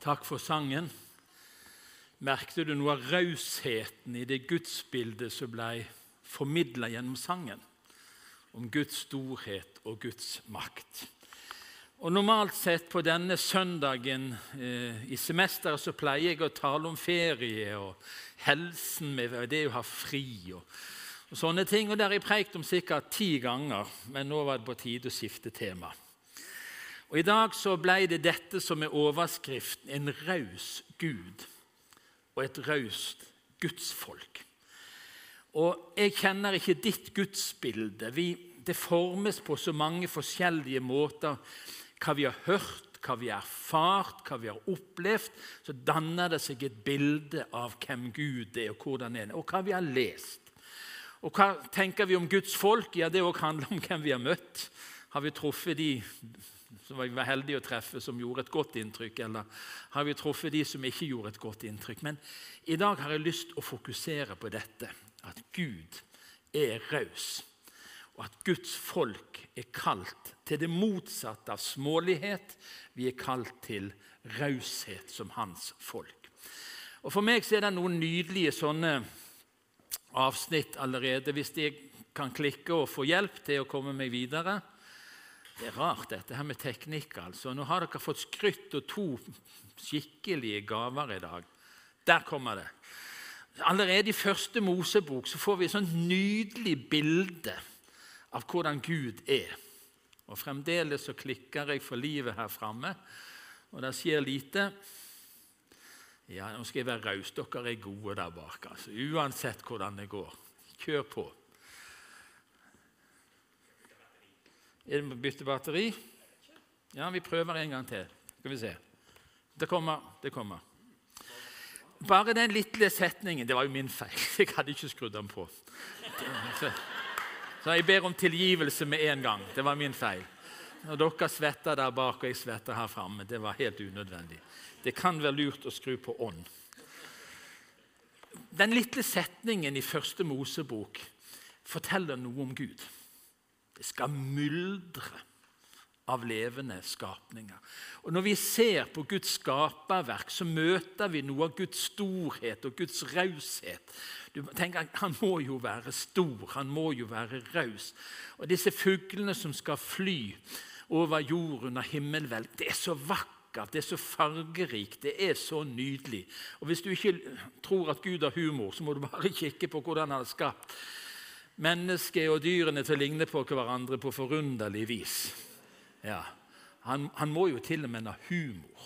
Takk for sangen. Merkte du noe av rausheten i det gudsbildet som ble formidlet gjennom sangen? Om Guds storhet og Guds makt. Og normalt sett på denne søndagen i semesteret så pleier jeg å tale om ferie og helsen med det å ha fri og sånne ting. Og der har jeg preikt om sikkert 10 ganger, men nå var det på tide å skifte tema. Og i dag så ble det dette som er overskriften, en raus Gud og et raust gudsfolk. Og jeg kjenner ikke ditt gudsbilde. Det formes på så mange forskjellige måter. Hva vi har hørt, hva vi har erfart, hva vi har opplevd, så danner det seg et bilde av hvem Gud er og hvordan han er, og hva vi har lest. Og hva tenker vi om Guds folk? Ja, det også handler om hvem vi har møtt. Har vi truffet de som vi var heldige å treffe, som gjorde et godt inntrykk, eller har vi truffet de som ikke gjorde et godt inntrykk? Men i dag har jeg lyst til å fokusere på dette, at Gud er raus, og at Guds folk er kalt til det motsatte av smålighet. Vi er kalt til raushet som hans folk. Og for meg så er det noen nydelige sånne avsnitt allerede, hvis jeg kan klikke og få hjelp til å komme meg videre. Det er rart dette her med teknikk, altså. Nå har dere fått skrytt og 2 skikkelige gaver i dag. Der kommer det. Allerede i første Mosebok så får vi et sånt nydelig bilde av hvordan Gud er. Og fremdeles så klikker jeg for livet her fremme, og det skjer lite. Ja, nå skal jeg være raus. Dere er gode der bak, altså. Uansett hvordan det går. Kjør på. Er det bytte batteri? Ja, vi prøver en gang til. Skal vi se. Det kommer. Bare den lille setningen, det var jo min feil. Jeg hadde ikke skrudd den på. Så jeg ber om tilgivelse med en gang. Det var min feil. Når dere svetter der bak, og jeg svetter her fremme, det var helt unødvendig. Det kan være lurt å skru på ånd. Den lille setningen i første Mosebok forteller noe om Gud. Det skal myldre av levende skapninger. Og når vi ser på Guds skaperverk, så møter vi noe av Guds storhet og Guds raushet. Du tenker, han må jo være stor, han må jo være raus. Og disse fuglene som skal fly over jorden og himmelhvelv, det er så vakkert, det er så fargerikt, det er så nydelig. Og hvis du ikke tror at Gud har humor, så må du bare kikke på hvordan han har skapt mennesket og dyrene til å ligne på hverandre på forunderlig vis. Ja, han må jo til og med ha humor.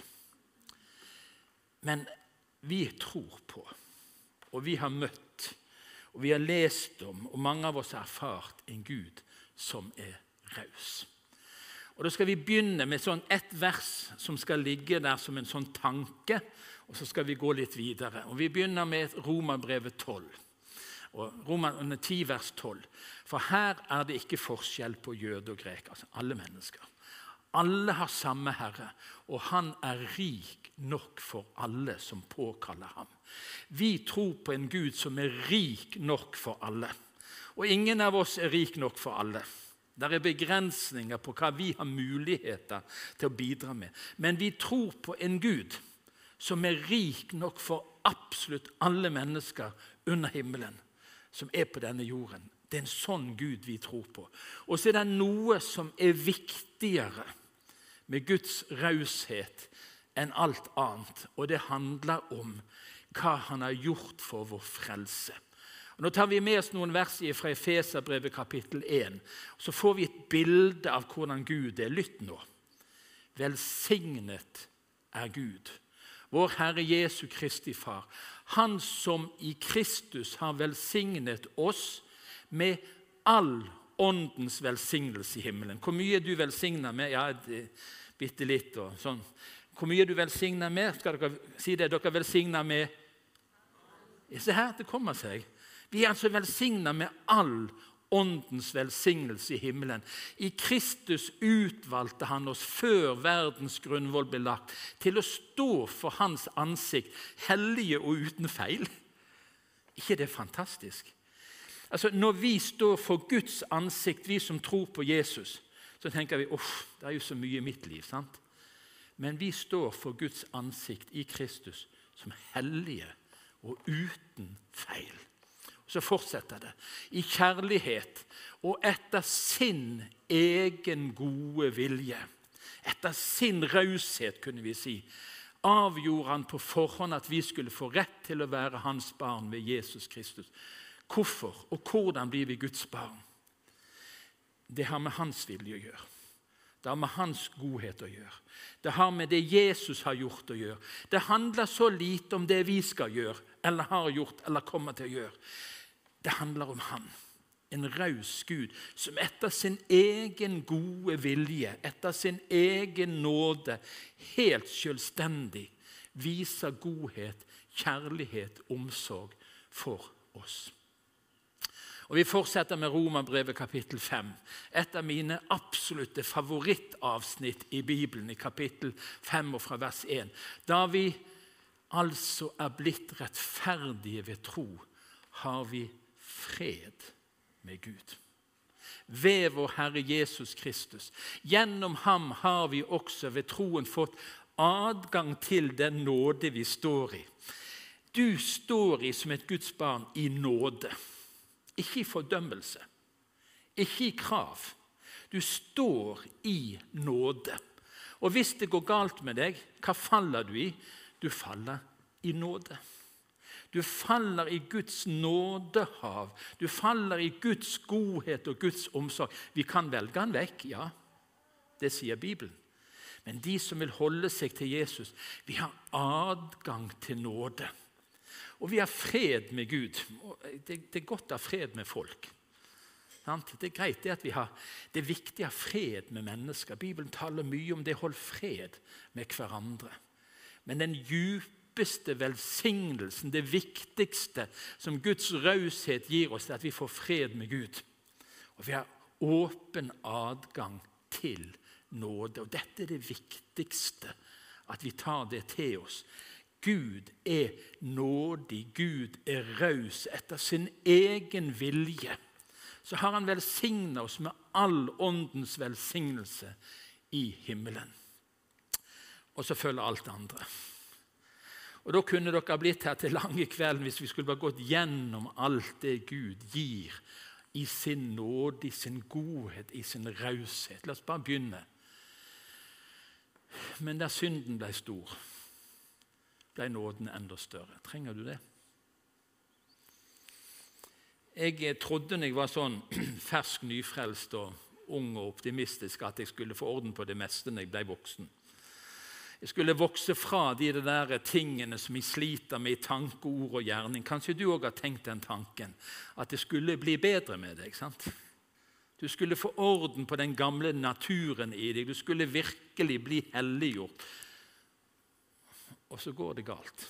Men vi tror på, og vi har møtt, og vi har lest om, og mange av oss har erfart en Gud som er raus. Og da skal vi begynne med et vers som skal ligge der som en sånn tanke, og så skal vi gå litt videre. Og vi begynner med Romerbrevet 12. Og Romerne 10 vers 12. For her er det ikke forskjell på jøde og grek, altså alle mennesker. Alle har samme Herre, og han er rik nok for alle som påkaller ham. Vi tror på en Gud som er rik nok for alle. Og ingen av oss er rik nok for alle. Det er begrensninger på hva vi har muligheter til å bidra med. Men vi tror på en Gud som er rik nok for absolutt alle mennesker under himmelen, som er på denne jorden. Det er en sånn Gud vi tror på. Og så er det noe som er viktigere med Guds raushet enn alt annet, og det handler om hva han har gjort for vår frelse. Og nå tar vi med oss noen vers fra Efeserbrevet kapittel 1, og så får vi et bilde av hvordan Gud er. Lytt nå. Velsignet er Gud, vår Herre Jesu Kristi Far, han som i Kristus har velsignet oss med all åndens velsignelse i himmelen. Hvor mye du velsigner med? Ja, bitte litt og sånn. Hvor mye du velsigner med? Skal dere si det? Dere velsigner med? Se her, det kommer seg. Vi er altså velsignet med all åndens velsignelse i himmelen. I Kristus utvalgte han oss før verdens grunnvoll ble lagt til å stå for hans ansikt, hellige og uten feil. Ikke det er fantastisk? Altså, når vi står for Guds ansikt, vi som tror på Jesus, så tenker vi, det er jo så mye i mitt liv, sant? Men vi står for Guds ansikt i Kristus som hellige og uten feil. Så fortsetter det. I kjærlighet og etter sin egen gode vilje, etter sin raushet kunne vi si, avgjorde han på forhånd at vi skulle få rett til å være hans barn ved Jesus Kristus. Hvorfor og hvordan blir vi Guds barn? Det har med hans vilje å gjøre. Det har med hans godhet å gjøre. Det har med det Jesus har gjort å gjøre. Det handler så lite om det vi skal gjøre, eller har gjort, eller kommer til å gjøre. Det handler om han, en raus Gud, som etter sin egen gode vilje, etter sin egen nåde, helt selvstendig, viser godhet, kjærlighet, omsorg for oss. Og vi fortsetter med Romerbrevet kapittel 5, et av mine absolutte favorittavsnitt i Bibelen, i kapittel 5 og fra vers 1. Da vi altså er blitt rettferdige ved tro, har vi fred med Gud. Ved vår Herre Jesus Kristus. Gjennom ham har vi også ved troen fått adgang til den nåde vi står i. Du står i som et Guds barn i nåde. Ikke i fordømmelse, ikke i krav. Du står i nåde. Og hvis det går galt med deg, hva faller du i? Du faller i nåde. Du faller i Guds nådehav. Du faller i Guds godhet og Guds omsorg. Vi kan velge han vekk, ja. Det sier Bibelen. Men de som vil holde seg til Jesus, vi har adgang til nåde. Og vi har fred med Gud. Det er godt å ha fred med folk. Det er greit det at det er viktig å ha fred med mennesker. Bibelen taler mye om det å holde fred med hverandre. Men den djupeste velsignelsen, det viktigste som Guds raushet gir oss, er at vi får fred med Gud. Og vi har åpen adgang til nåde. Og dette er det viktigste, at vi tar det til oss. Gud er nådig, Gud er raus etter sin egen vilje. Så har han velsignet oss med all åndens velsignelse i himmelen. Og så følger alt det andre. Og da kunne dere blitt her til lange kvelden hvis vi skulle bare gått gjennom alt det Gud gir i sin nåde, i sin godhet, i sin raushet. La oss bare begynne. Men der synden ble stor, ble nåden enda større. Trenger du det? Jeg trodde når jeg var sånn fersk, nyfrelst og ung og optimistisk at jeg skulle få orden på det meste når jeg ble voksen. Jeg skulle vokse fra de der tingene som jeg sliter med i tanke, ord og gjerning. Kanskje du også har tenkt den tanken, at det skulle bli bedre med deg, sant? Du skulle få orden på den gamle naturen i deg. Du skulle virkelig bli helliggjort. Og så går det galt.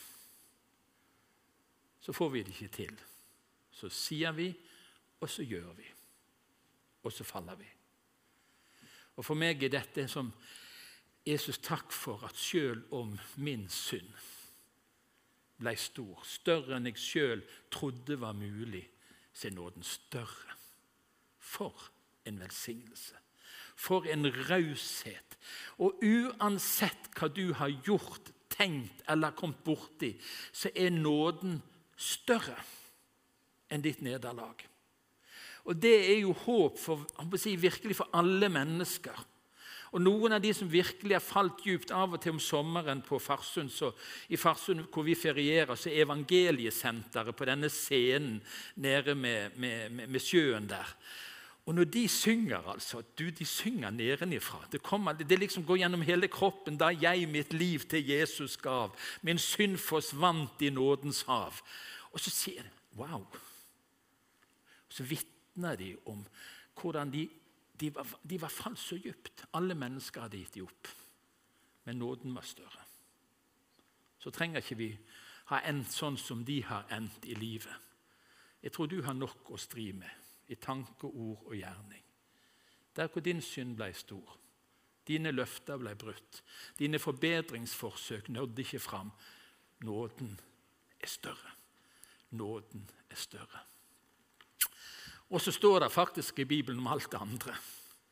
Så får vi det ikke til. Så sier vi, og så gjør vi. Og så faller vi. Og for meg er dette som Jesus, takk for at selv om min synd ble stor, større enn jeg selv trodde var mulig, så er nåden større. For en velsignelse. For en raushet. Og uansett hva du har gjort, tenkt eller kommet borti, så er nåden større enn ditt nederlag. Og det er jo håp for, virkelig for alle mennesker. Og noen av de som virkelig har falt djupt av og til om sommeren på Farsund, så i Farsund hvor vi ferierer, så er evangeliesenteret på denne scenen nede med sjøen der. Og når de synger, altså, de synger nedenifra. Det liksom går gjennom hele kroppen. Da jeg mitt liv til Jesus gav, min synd forsvant i nådens hav. Og så sier de, wow. Og så vittner de om hvordan de var falt så dypt. Alle mennesker hadde gitt de opp. Men nåden var større. Så trenger ikke vi ha endt sånn som de har endt i livet. Jeg tror du har nok å stri med. I tanke, ord og gjerning. Der hvor din synd ble stor, dine løfter ble brutt, dine forbedringsforsøk nådde ikke fram. Nåden er større. Nåden er større. Og så står det faktisk i Bibelen om alt det andre.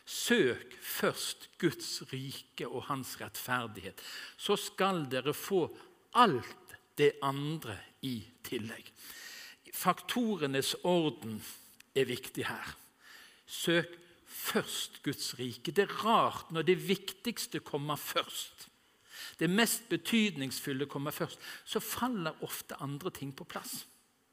søk først Guds rike og hans rettferdighet, så skal dere få alt det andre i tillegg. Faktorenes orden er viktig her. Søk først Guds rike. Det er rart når det viktigste kommer først. Det mest betydningsfulle kommer først. Så faller ofte andre ting på plass.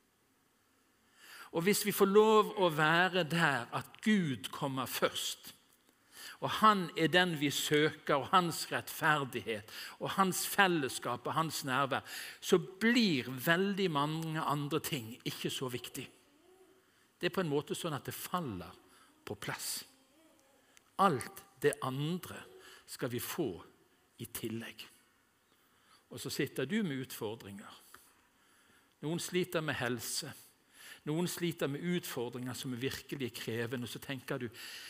Og hvis vi får lov å være der at Gud kommer først, og han er den vi søker, og hans rettferdighet, og hans fellesskap og hans nærvær, så blir veldig mange andre ting ikke så viktig. Det er på en måte sånn at det faller på plass. Alt det andre skal vi få i tillegg. Og så sitter du med utfordringer. Noen sliter med helse. Noen sliter med utfordringer som er virkelig krevende. Og så tenker du,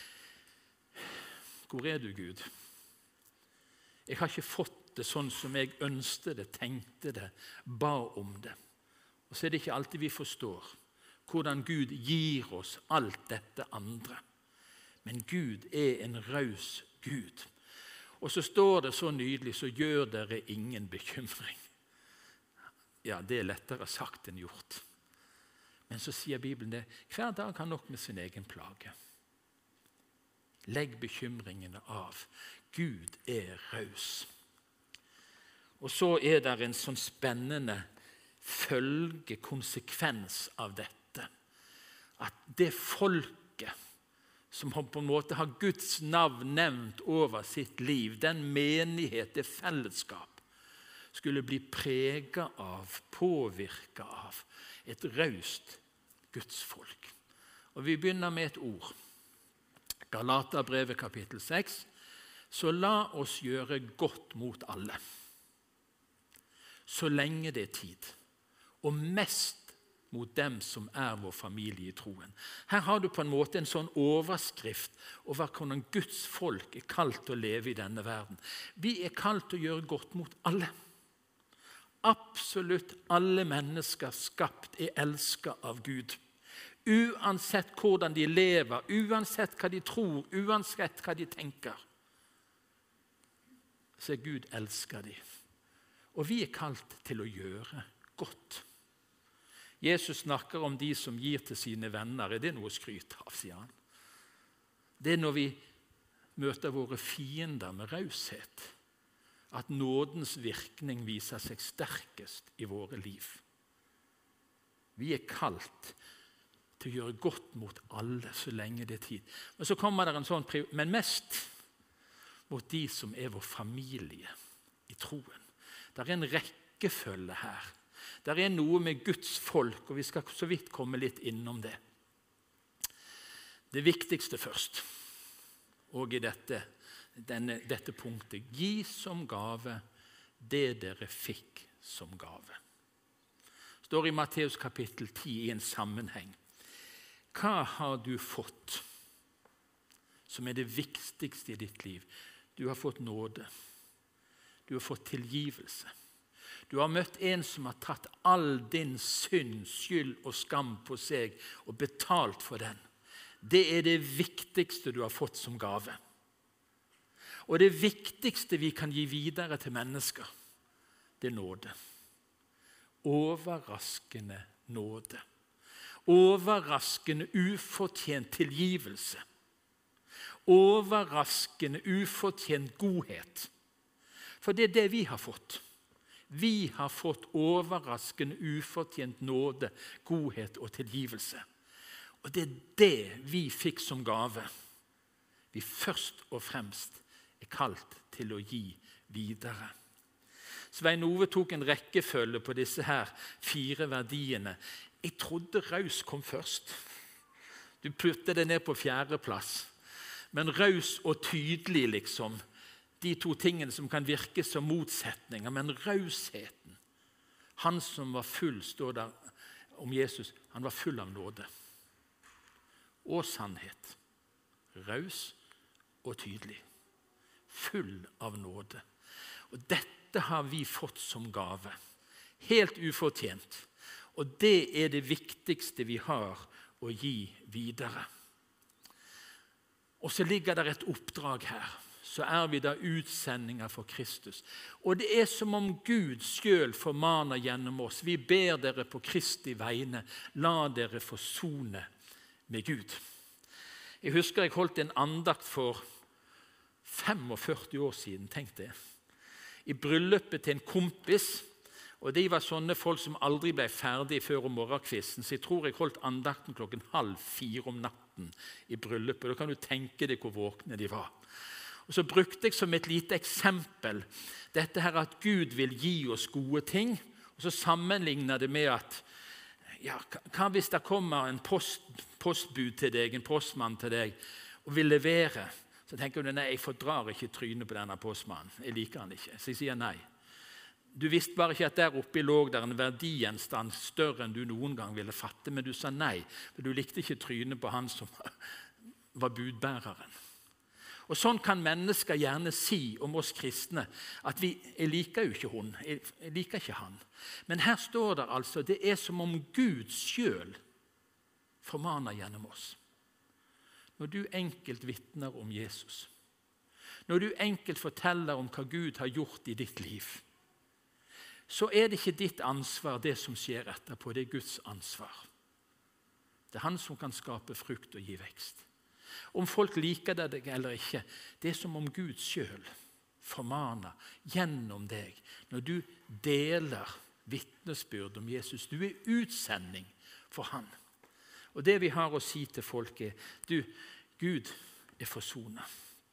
hvor er du, Gud? Jeg har ikke fått det sånn som jeg ønsket det, tenkte det, ba om det. Og så er det ikke alltid vi forstår hvordan Gud gir oss alt dette andre. Men Gud er en raus Gud. Og så står det så nydelig, så gjør dere ingen bekymring. Ja, det er lettere sagt enn gjort. Men så sier Bibelen det, hver dag har nok med sin egen plage. Legg bekymringene av. Gud er raus. Og så er det en sånn spennende konsekvens av dette. At det folket som på en måte har Guds navn nevnt over sitt liv, den menighet, det fellesskap, skulle bli preget av, påvirket av et raust Guds folk. Og vi begynner med et ord. Galaterbrevet kapittel 6. Så la oss gjøre godt mot alle, så lenge det er tid, og mest mot dem som er vår familie i troen. Her har du på en måte en sånn overskrift over hvordan Guds folk er kalt til å leve i denne verden. Vi er kalt til å gjøre godt mot alle. Absolutt alle mennesker skapt er elsket av Gud. Uansett hvordan de lever, uansett hva de tror, uansett hva de tenker, så er Gud elsker de. Og vi er kalt til å gjøre godt. Jesus snakker om de som gir til sine venner. Er det noe å skryte av, sier han. Det er når vi møter våre fiender med raushet, at nådens virkning viser seg sterkest i våre liv. Vi er kalt til å gjøre godt mot alle så lenge det er tid. Men så kommer det en sånn men mest mot de som er vår familie i troen. Det er en rekkefølge her. Det er noe med Guds folk, og vi skal så vidt komme litt innom det. Det viktigste først, og i dette punktet, gi som gave det dere fikk som gave. Det står i Matteus kapittel 10 i en sammenheng. Hva har du fått som er det viktigste i ditt liv? Du har fått nåde. Du har fått tilgivelse. Du har møtt en som har tatt all din synd, skyld og skam på seg og betalt for den. Det er det viktigste du har fått som gave. Og det viktigste vi kan gi videre til mennesker, det er nåde. Overraskende nåde. Overraskende ufortjent tilgivelse. Overraskende ufortjent godhet. For det er det vi har fått. Vi har fått overraskende ufortjent nåde, godhet og tilgivelse. Og det er det vi fikk som gave. Vi først og fremst er kalt til å gi videre. Svein Ove tok en rekkefølge på disse her 4 verdiene. Jeg trodde raus kom først. Du putter det ned på 4. plass. Men raus og tydelig, liksom, de 2 tingene som kan virke som motsetninger, men rausheten. Han som var full, står der om Jesus, han var full av nåde. Og sannhet. Raus og tydelig. Full av nåde. Og dette har vi fått som gave. Helt ufortjent. Og det er det viktigste vi har å gi videre. Og så ligger det et oppdrag her. Så er vi da utsendinger for Kristus. Og det er som om Gud selv formaner gjennom oss. Vi ber dere på Kristi vegne, la dere forsone med Gud. Jeg husker jeg holdt en andakt for 45 år siden, tenkte jeg. I bryllupet til en kompis, og de var sånne folk som aldri ble ferdig før om morgenkvisten, så jeg tror jeg holdt andakten 3:30 om natten i bryllupet. Da kan du tenke deg hvor våkne de var. Og så brukte jeg som et lite eksempel dette her at Gud vil gi oss gode ting, og så sammenligner det med at ja, hva hvis det kommer en postbud til deg, en postmann til deg, og vil levere? Så tenker du, nei, jeg fordrar ikke trynet på denne postmannen. Jeg liker han ikke, så jeg sier nei. Du visste bare ikke at der oppe lå der en verdigjenstand større enn du noen gang ville fatte, men du sa nei, for du likte ikke trynet på han som var budbæreren. Og sånn kan mennesker gjerne si om oss kristne, at jeg liker jo ikke hun, jeg liker ikke han. Men her står det altså, det er som om Gud selv formaner gjennom oss. Når du enkelt vitner om Jesus, når du enkelt forteller om hva Gud har gjort i ditt liv, så er det ikke ditt ansvar det som skjer etterpå, det er Guds ansvar. Det er han som kan skape frukt og gi vekst. Om folk liker det eller ikke, det er som om Gud selv formaner gjennom deg. Når du deler vitnesbyrd om Jesus, du er utsending for han. Og det vi har å si til folk er, Gud er forsonet.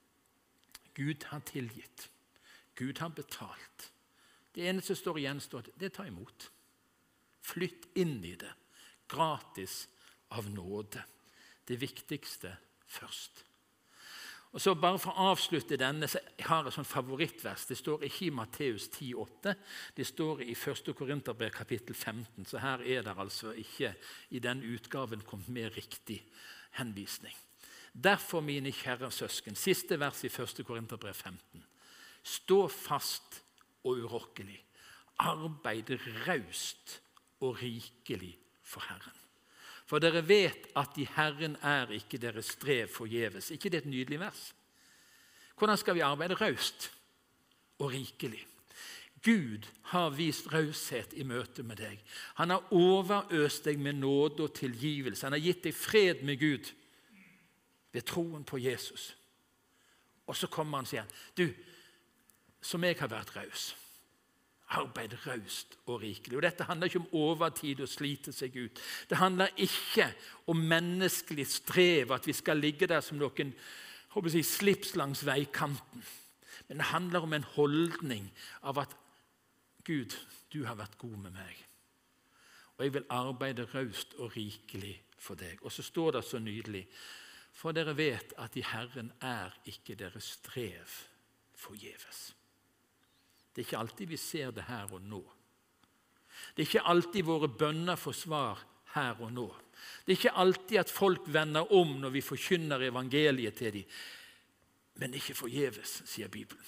Gud har tilgitt. Gud har betalt. Det eneste som står igjen, det tar imot. Flytt inn i det, gratis av nåde. Det viktigste først. Og så bare for å avslutte denne, så har jeg et sånn favorittvers. Det står ikke i Matteus 10,8, det står i 1. Korinterbrev kapittel 15, så her er det altså ikke i den utgaven kommet med riktig henvisning. Derfor, mine kjære søsken, siste vers i 1. Korinterbrev 15. Stå fast og urokkelig. Arbeid raust og rikelig for Herren. For dere vet at i Herren er ikke deres strev forgjeves. Ikke det et nydelig vers? Hvordan skal vi arbeide raust og rikelig? Gud har vist raushet i møte med deg. Han har overøst deg med nåde og tilgivelse. Han har gitt deg fred med Gud ved troen på Jesus. Og så kommer han og sier, du, som jeg har vært raus, arbeid raust og rikelig. Og dette handler ikke om overtid og slite seg ut. Det handler ikke om menneskelig strev, at vi skal ligge der som noen slips langs veikanten. Men det handler om en holdning av at Gud, du har vært god med meg. Og jeg vil arbeide raust og rikelig for deg. Og så står det så nydelig, for dere vet at i Herren er ikke deres strev forgjeves. Det er ikke alltid vi ser det her og nå. Det er ikke alltid våre bønner får svar her og nå. Det er ikke alltid at folk vender om når vi forkynner evangeliet til dem. Men ikke forgjeves, sier Bibelen.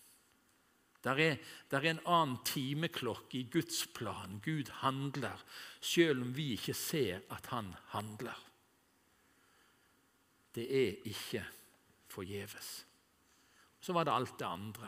Der er en annen timeklokke i Guds plan. Gud handler, selv om vi ikke ser at han handler. Det er ikke forgjeves. Så var det alt det andre.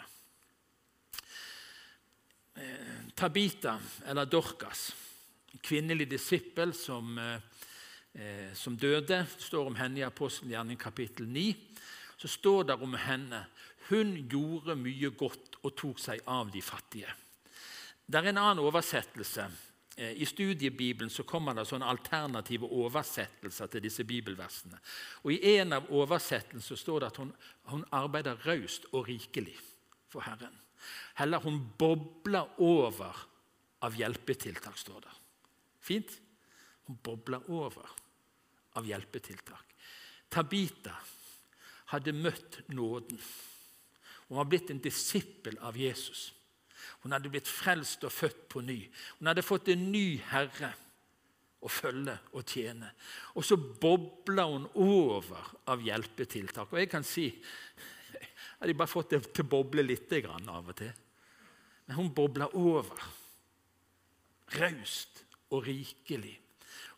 Tabita, eller Dorcas, kvinnelig disippel som døde, står om henne i Apostelgjerningen kapittel 9. Så står det om henne, hun gjorde mye godt og tok seg av de fattige. Det er en annen oversettelse. I studiebibelen så kommer det sånne alternative oversettelser til disse bibelversene. Og i en av oversettelsene så står det at hun arbeider raust og rikelig for Herren. Heller hun bobler over av hjelpetiltak, står det. Fint? Hun bobler over av hjelpetiltak. Tabita hadde møtt nåden. Hun var blitt en disippel av Jesus. Hun hadde blitt frelst og født på ny. Hun hadde fått en ny herre å følge og tjene. Og så bobler hun over av hjelpetiltak. Og jeg kan si, jeg hadde bare fått det til å boble litt grann av og til. Men hun bobler over. Raust og rikelig.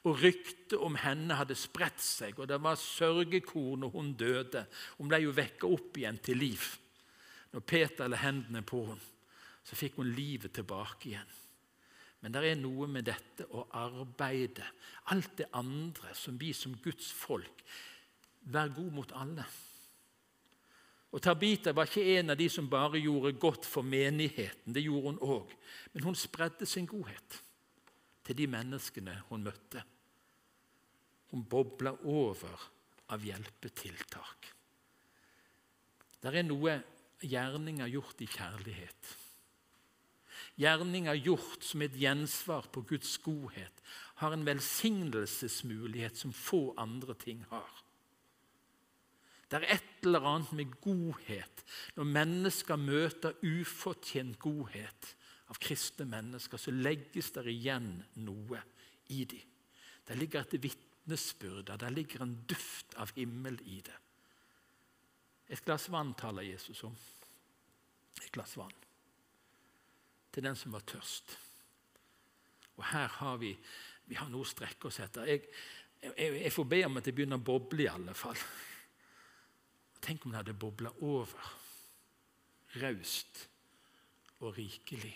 og ryktet om henne hadde spredt seg, og det var sørgekor når hun døde. Hun ble jo vekket opp igjen til liv. Når Peter la hendene på henne, så fikk hun livet tilbake igjen. Men det er noe med dette å arbeide, alt det andre som vi som Guds folk, vær god mot alle. Og Tabita var ikke en av de som bare gjorde godt for menigheten, det gjorde hun også. Men hun spredde sin godhet til de menneskene hun møtte. Hun boblet over av hjelpetiltak. Det er noe gjerninger gjort i kjærlighet. Gjerninger gjort som et gjensvar på Guds godhet har en velsignelsesmulighet som få andre ting har. Det er et eller annet med godhet. Når mennesker møter ufortjent godhet av kristne mennesker, så legges det igjen noe i dem. Det ligger et vitnesbyrd, det ligger en duft av himmel i det. Et glass vann taler Jesus om. Et glass vann. Til den som var tørst. Og her har vi har noe å strekke oss etter. Jeg får be om at det begynner å boble i alle fall. Tenk om det hadde boblet over. Raust og rikelig.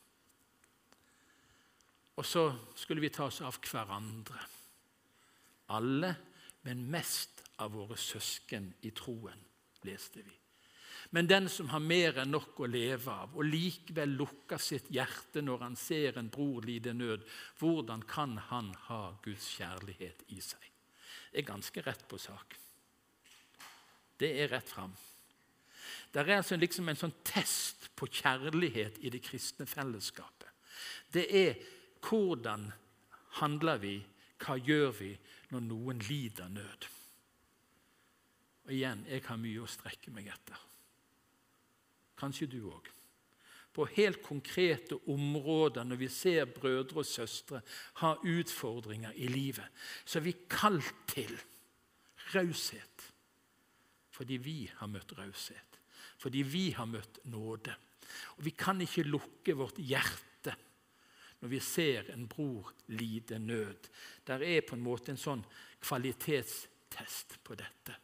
Og så skulle vi ta oss av hverandre. Alle, men mest av våre søsken i troen, leste vi. Men den som har mer enn nok å leve av, og likevel lukker sitt hjerte når han ser en bror lide nød, hvordan kan han ha Guds kjærlighet i seg? Det er ganske rett på sak. Det er rett fram. Det er altså liksom en sånn test på kjærlighet i det kristne fellesskapet. Det er hvordan handler vi, hva gjør vi når noen lider nød? Og igjen, jeg har mye å strekke meg etter. Kanskje du også. På helt konkrete områder, når vi ser brødre og søstre ha utfordringer i livet, så er vi kalt til raushet. Fordi vi har møtt raushet. Fordi vi har møtt nåde. Og vi kan ikke lukke vårt hjerte når vi ser en bror lide nød. Der er på en måte en sånn kvalitetstest på dette.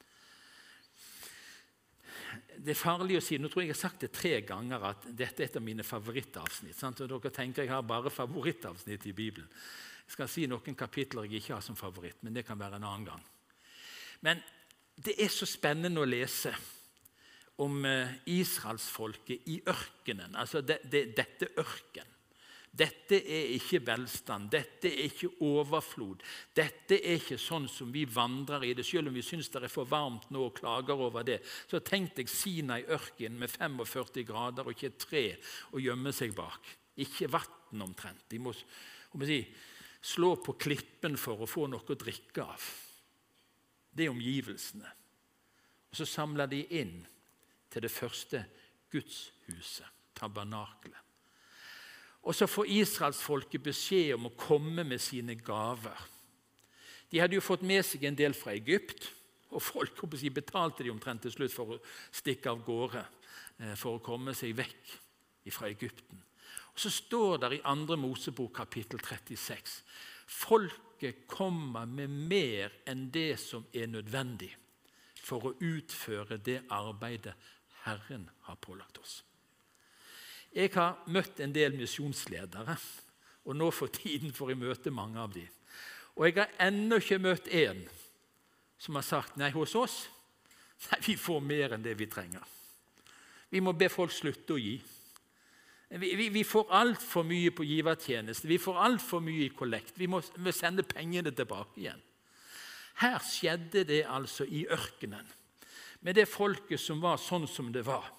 Det er farlig å si, nå tror jeg har sagt det 3 ganger, at dette er et av mine favorittavsnitt. Sant? Og dere tenker jeg har bare favorittavsnitt i Bibelen. Jeg skal si noen kapitler jeg ikke har som favoritt, men det kan være en annen gang. Men det er så spennende å lese om Israelsfolket i ørkenen, altså dette ørken. Dette er ikke velstand, dette er ikke overflod, dette er ikke sånn som vi vandrer i det, selv om vi synes det er for varmt nå og klager over det. Så tenkte jeg Sinai ørken med 45 grader og ikke et tre å gjemme seg bak. Ikke vatten omtrent. De må slå på klippen for å få noe å drikke av. Det er omgivelsene. Og så samler de inn til det første Gudshuset, tabernaklet. Og så får Israelsfolket beskjed om å komme med sine gaver. De hadde jo fått med seg en del fra Egypt, og folk betalte de omtrent til slutt for å stikke av gårde, for å komme seg vekk fra Egypten. Og så står det i 2. Mosebok kapittel 36, folket kommer med mer enn det som er nødvendig for å utføre det arbeidet Herren har pålagt oss. Jeg har møtt en del misjonsledere, og nå for tiden får jeg møte mange av dem. Og jeg har ennå ikke møtt en som har sagt, nei, hos oss, nei, vi får mer enn det vi trenger. Vi må be folk slutte å gi. Vi får alt for mye på givertjeneste, vi får alt for mye i kollekt, vi må sende pengene tilbake igjen. Her skjedde det altså i ørkenen, med det folket som var sånn som det var.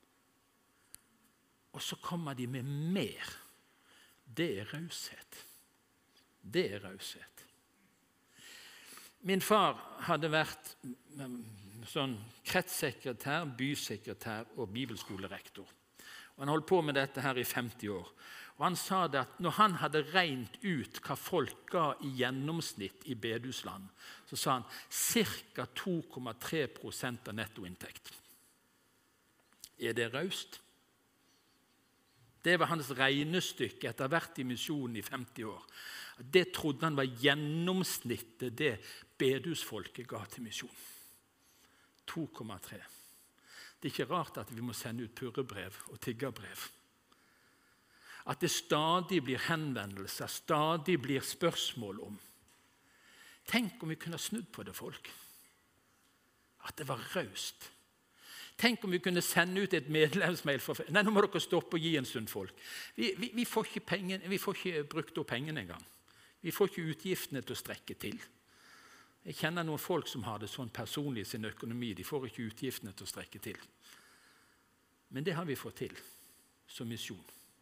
Og så kommer de med mer. Det er raushet. Det er raushet. Min far hadde vært sånn kretssekretær, bysekretær og bibelskolerektor. Og han holdt på med dette her i 50 år. Og han sa det at når han hadde regnet ut hva folk ga i gjennomsnitt i bedehusland, så sa han ca. 2,3% av nettoinntekt. Er det raust? Det var hans regnestykke etter hvert i misjonen i 50 år. Det trodde han var gjennomsnittet det bedehusfolket ga til misjon. 2,3. Det er ikke rart at vi må sende ut purrebrev og tiggerbrev. At det stadig blir henvendelser, stadig blir spørsmål om. Tenk om vi kunne snudd på det, folk. At det var raust. Tenk om vi kunne sende ut et medlemsmail for nei, nå må dere stoppe og gi en stund, folk. Vi får ikke brukt opp pengene engang. Vi får ikke utgiftene til å strekke til. Jeg kjenner noen folk som har det sånn personlig i sin økonomi. De får ikke utgiftene til å strekke til. Men det har vi fått til som misjon.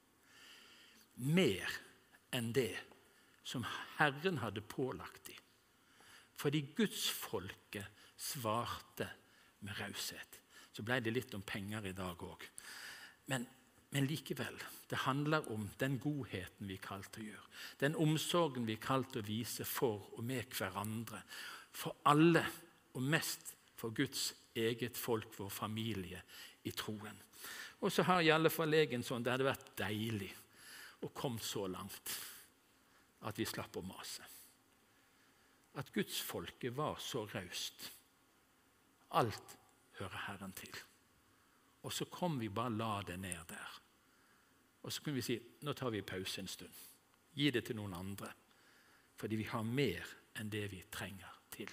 Mer enn det som Herren hadde pålagt dem. Fordi Gudsfolket svarte med raushet. Så ble det litt om penger i dag også. Men likevel, det handler om den godheten vi er kalt til å gjøre. Den omsorgen vi er kalt til å vise for og med hverandre. For alle, og mest for Guds eget folk, vår familie i troen. Og så har i alle fall jeg en sånn, det hadde vært deilig å komme så langt at vi slapp å mase. At Gudsfolket var så raust. Alt hører Herren til. Og så kom vi bare la det ned der. Og så kunne vi si, nå tar vi pause en stund. Gi det til noen andre. Fordi vi har mer enn det vi trenger til.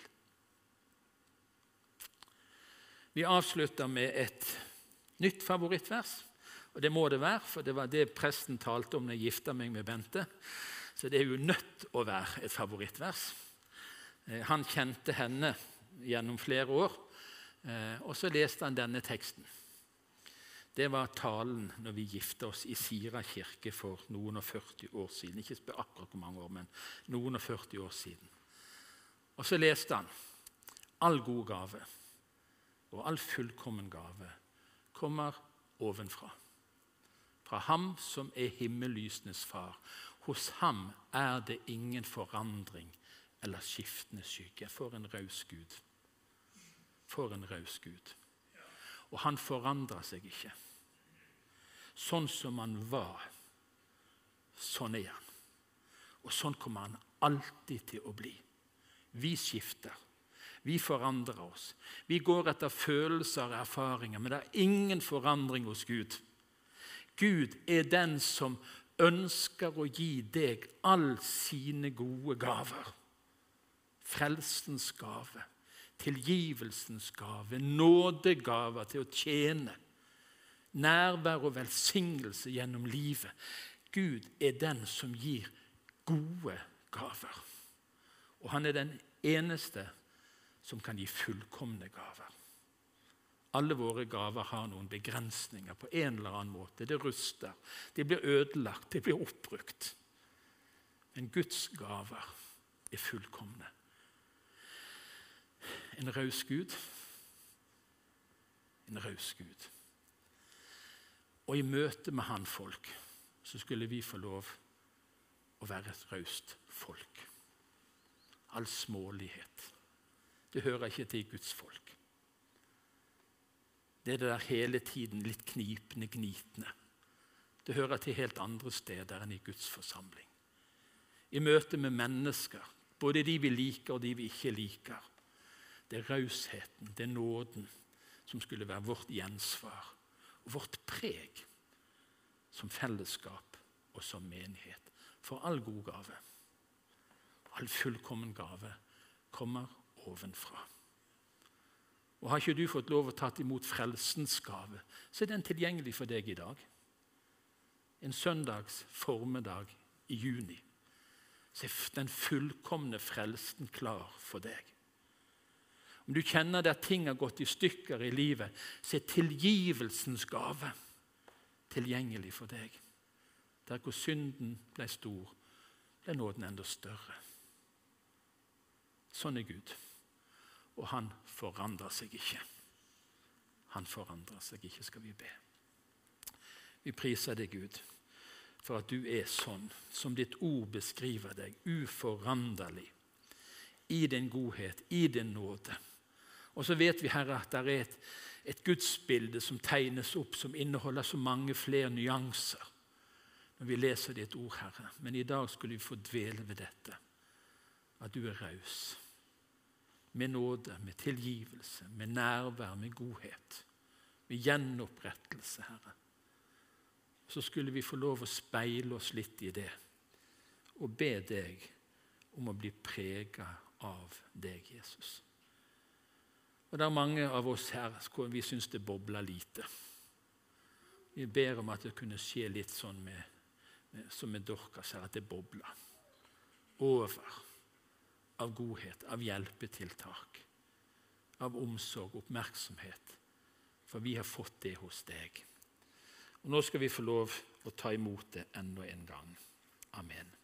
Vi avslutter med et nytt favorittvers. Og det må det være, for det var det presten talte om når jeg gifta meg med Bente. Så det er jo nødt å være et favorittvers. Han kjente henne gjennom flere år, og så leste han denne teksten. Det var talen når vi gifte oss i Sira kirke for noen og 40 år siden. Ikke spør akkurat hvor mange år, men noen og 40 år siden. Og så leste han, all god gave og all fullkommen gave kommer ovenfra. Fra ham som er himmellysenes far. Hos ham er det ingen forandring eller skiftende skygge. For en raus Gud. For en raus Gud. Og han forandrer seg ikke. Sånn som han var, sånn er han. Og sånn kommer han alltid til å bli. Vi skifter. Vi forandrer oss. Vi går etter følelser og erfaringer, men det er ingen forandring hos Gud. Gud er den som ønsker å gi deg all sine gode gaver. Frelsens gave. Tilgivelsens gave, nådegaver til å tjene, nærvær og velsignelse gjennom livet. Gud er den som gir gode gaver. Og han er den eneste som kan gi fullkomne gaver. Alle våre gaver har noen begrensninger på en eller annen måte. Det ruster, det blir ødelagt, det blir oppbrukt. Men Guds gaver er fullkomne. En raus Gud. En raus Gud. Og i møte med han folk, så skulle vi få lov å være et raust folk. All smålighet. Det hører ikke til Guds folk. Det er det der hele tiden litt knipende, gnitende. Det hører til helt andre steder enn i Guds forsamling. I møte med mennesker, både de vi liker og de vi ikke liker. Det er rausheten, det er nåden som skulle være vårt gjensvar og vårt preg som fellesskap og som menighet. For all god gave, all fullkommen gave kommer ovenfra. Og har ikke du fått lov å ta imot frelsens gave, så er den tilgjengelig for deg i dag. En søndags formiddag i juni, så er den fullkomne frelsen klar for deg. Om du kjenner at ting har gått i stykker i livet, så er tilgivelsens gave tilgjengelig for deg. Der hvor synden ble stor, ble nåden enda større. Sånn er Gud. Og han forandrer seg ikke. Han forandrer seg ikke, skal vi be. Vi priser deg, Gud, for at du er sånn, som ditt ord beskriver deg, uforanderlig, i din godhet, i din nåde. Og så vet vi, Herre, at det er et gudsbilde som tegnes opp, som inneholder så mange flere nyanser. når vi leser ditt ord, Herre. Men i dag skulle vi få dvele ved dette, at du raus. Med nåde, med tilgivelse, med nærvær, med godhet, med gjenopprettelse, Herre. Så skulle vi få lov å speile oss litt i det, og be deg om å bli preget av deg, Jesus. Og det er mange av oss her hvor vi synes det bobler lite. Vi ber om at det kunne skje litt sånn som med Dorcas her, at det bobler over av godhet, av hjelpetiltak, av omsorg, oppmerksomhet. For vi har fått det hos deg. Og nå skal vi få lov å ta imot det enda en gang. Amen.